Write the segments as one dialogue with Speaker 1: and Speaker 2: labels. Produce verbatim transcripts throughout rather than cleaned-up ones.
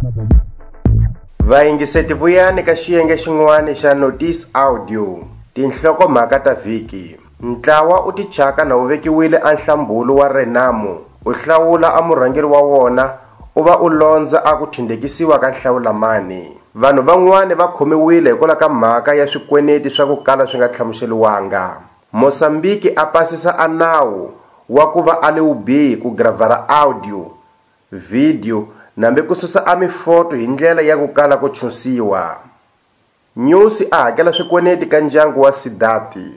Speaker 1: Vayingiseti vuyani ka xiyenge xin'wana xa Notice Audio. Tinhlokomhaka ta vhiki. Ntlawa u tichaka na wu vekiwile anhlambulo wa Renamo. U hlawula a murhangeri wa wona u va u londza a ku thindekisiwa ka nhlawulamani. Vanhu van'wana va khomiwile hikwalaho ka mhaka ya swikweneti swa ku kala swi nga hlamuseriwanga. Mosambiki a pasisa a nawu wa ku va a le vubihi ku gravara audio, video nambe ku susa a mifoto hi ndlela ya ku kala ku chusiwa. Nyusi a hakela swikweneti ka ndyangu wa Sidati.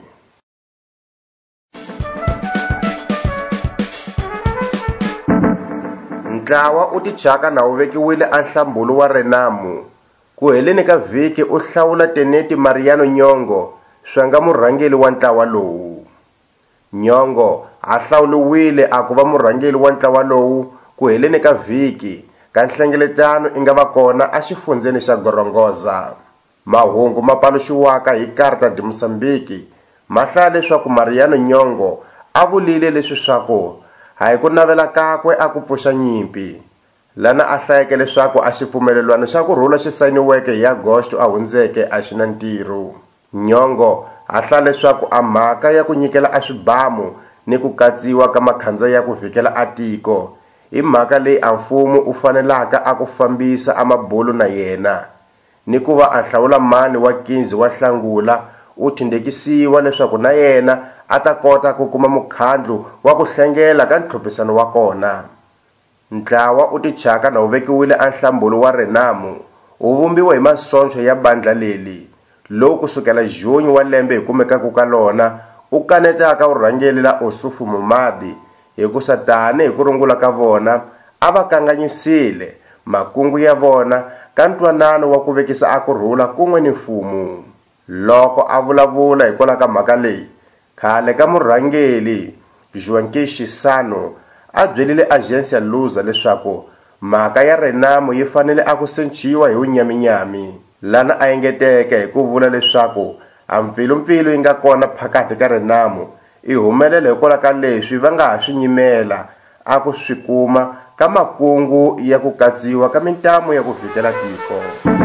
Speaker 1: Ntlawa u tichaka na wu vekiwile anhlambulo wa Renamo. Ku heleni ka vhiki u hlawula Teneti Mariano Nyong'o swa nga murhangeri wa ntlawa lowu. Nyong'o a hlawuliwile a ku va murhangeri wa ntlawa lowu ku heleni ka vhiki ka nhlengeletano i nga va kona a xifundzeni xa Gorongosa. Mahungu ma paluxiwaka hi Carta de Moçambique ma hlaya leswaku Mariano Nyong'o a vulile leswi swaku hayi ku navela kakwe a ku pfuxa nyimpi. Lana a hlayeke leswaku a xipfumelelwano xa ku rhula xi sayiniweke hi Agosto a hundzeke a xi na ntirho. Nyong'o a hlaya leswaku a mhaka ya ku nyikela a swibamu ni ku katsiwa ka makhandza ya ku vhikela a tiko hi mhaka leyi a mfumo u fanelaka a ku fambisa a mabulu na yena, ni ku va a hlawula mani wa quinze wa Nhlangula u thindekisiwa leswaku na yena a ta kota ku kuma mukhandlu wa ku hlengela ka ntlhophisano wa kona. Ntlawa u tichaka na wu vekiwile anhlambulo wa Renamo wu vumbiwa hi masoncho ya bandla leli, lowu kusukela Juni wa lembe hi kumekaka ka lona u kanetaka vurhangeri la Osufo Momadi hi ku satani hi ku rungula ka vona a va kanganyisile makungu ya vona ka ntwanano wa ku vekisa a kurhula kun'we ni mfumo. Loko a vulavula hikwalaho ka mhaka leyi, khale ka murhangeri Joaquim Chissano a byelile Agência Lusa leswaku mhaka ya Renamo yi fanele a ku sechiwa hi unyaminyami. Lana a engeteke hi ku vula leswaku a mpfilumpfilu yi nga kona phakati ka Renamo i humelela hikwalaho ka leswi va nga ha swi nyimela a ku swi kuma ka makungu ya ku katsiwa ka mintamu ya ku vhikela tiko.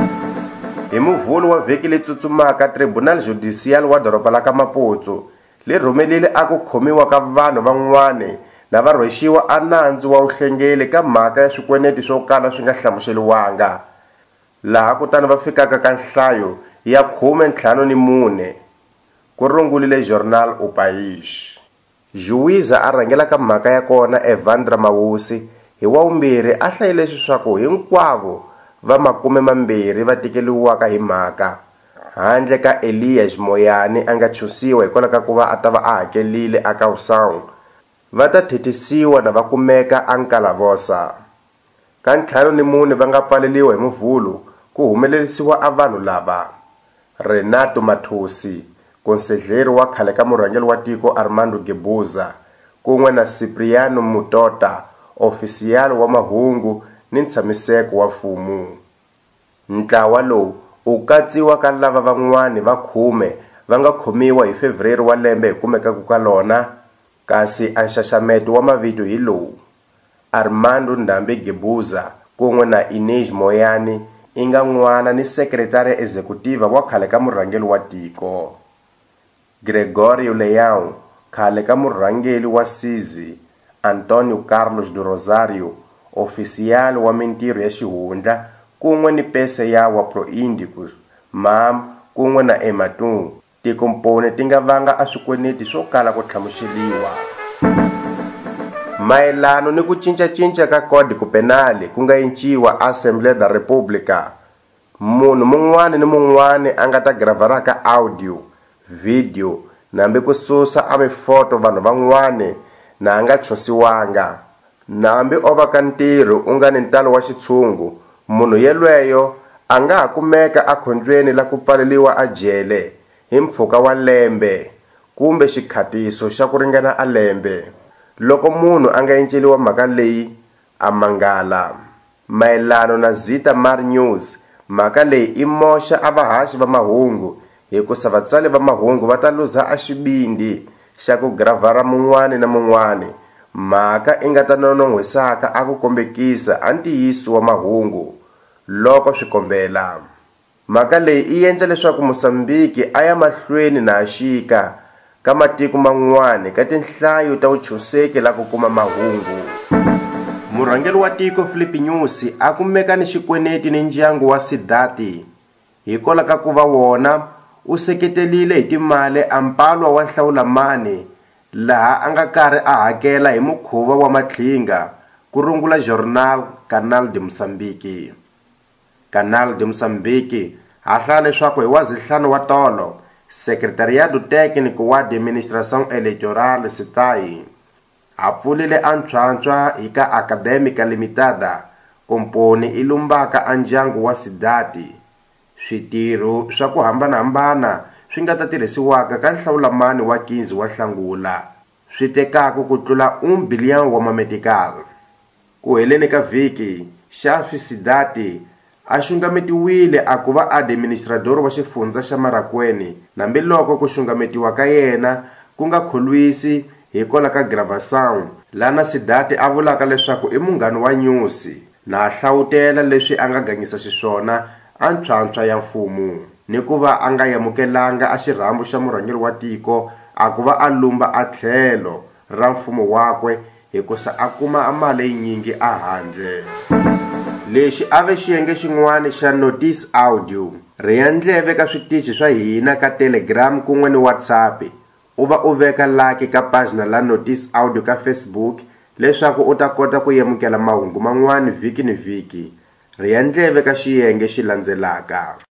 Speaker 1: Hi Muvhulu wa vhiki leyi tsutsumaka, Tribunal Judicial wa doroba la ka Maputo li rhumelile a ku khomiwa ka vanhu van'wana na va rhwexiwa a nandzu wa vuhlengeli ka mhaka ya swikweneti swo kala swi nga hlamuseriwanga, laha kutani va fikaka ka nhlayo ya khume ntlhanu ni mune, ku rungulile Jornal O País. Juiza a rhangela ka mhaka ya kona Evandra Mawusi hi wa vumbirhi a hlayile leswaku hinkwavo va makume mambirhi va tikeliwaka hi mhaka, handle ka Elias Moyane a nga chusiwa hikwalaho ka ku va a ta va a hakelile a Kausão, va ta thethisiwa na va kumeka a Nkalavosa. Ka ntlhanu ni mune va nga pfaleliwa hi Muvhulu ku humelerisiwa a vanhu lava: Renato Mathosi, konsedleri wa khale ka murhangeri wa tiko Armando Guebuza, kun'we na Cipriano Mutota, ofisiyali wa mahungu ni ntshamiseko wa mfumo. Ntlawa lowu u katsiwa ka lava van'wana va khume va nga khomiwa hi Febureri wa lembe hi kumekaka ka lona, kasi a nxaxameto wa mavito hi lowu: Armando Ndambe Guebuza kun'we na Inês Moyane i nga n'wana ni sekretari executiva wa khale ka murhangeri wa tiko. Gregorio Leão, khale ka murhangeri wa Sizwe, Antônio Carlos do Rosário, ofisiyali wa mintirho ya xihundla kun'we ni pese ya wa Proíndicos, M A M kun'we na Ematum, tikomponi ti nga vanga a swikweneti swo kala ku hlamuseriwa. Mayelano ni ku cincacinca ka Código Penal ku nga enciwa Assembleia da República, munhu mun'wana ni mun'wana a nga ta gravaraka audio, video nambe ku susa a mifoto vanhu van'wana na a nga chusiwanga, nambe o va ka ntirho u nga ni ntalo wa xitshungu, munhu yelweyo a nga ha kumeka a khondlweni la ku pfaleliwa a jele hi mpfhuka wa lembe kumbe xikhatiso xa ku ringana a lembe loko munhu a nga enceliwa mhaka leyi a mangala. Mayelano na Zita Mar News, mhaka leyi i moxa a vahaxi va mahungu hikusa vatsali va mahungu va ta luza a xibindi xa ku gravara mun'wana na mun'wana mhaka i nga ta nonohwisaka a ku kombekisa a ntiyiso wa mahungu loko swi kombela. Mhaka leyi yi endla leswaku Mosambiki a ya mahlweni na xika ka matiko man'wana ka tinhlayo ta vuchoseki la ku kuma mahungu. Murhangeri wa tiko Filipe Nyusi a kumeka ni xikweneti ni ndyangu wa Sidati hikwalaho ka ku va wona u seketelile hi timali ampalwa wa Nhlawulamani laha a nga karhi a hakela hi mukhuva wa mathlinga ku rungula Jornal Canal de Moçambique. Canal de Moçambique ha hlaya leswaku hi wazihlanu wa tolo Secretariado Técnico wa Administração Eleitoral S E T A I a pfulile antshwantswa hi ka Académica Limitada, komponi i lumbaka a ndyangu wa Sidati switirho swa ku hambanahambana swi nga ta tirhisiwaka ka Nhlawulamani wa quinze wa Nhlangula swi tekaka ku tlula un bilhão wa mametikal. Ku heleni ka vhiki Xafi Sidati a xungametiwile a ku va administrador wa xifundza xa Marakweni, nambiloko ku xungametiwa ka yena ku nga kholwisi hikwalaho ka gravação lana Sidati a vulaka leswaku i munghana wa Nyusi na a hlawutela leswi a nga ganyisa xiswona antshwantswa ya mfumo ni ku va a nga yamukelanga a xirhambo xa murhangeri wa tiko a ku va a lumba a tlhelo ra mfumo wakwe hikusa a kuma mali yinyingi a handle. Lexi a ve xiyenge xin'wana xa Notice Audio ri ya ndleve ka switichi swa hina ka Telegram kun'we ni WhatsApp. U va u veka like ka pagina la Notice Audio ka Facebook leswaku u ta kota ku yamukela mahungu man'wana vhiki ni vhiki. Ri ya ndleve ka xiyenge xi landzelaka.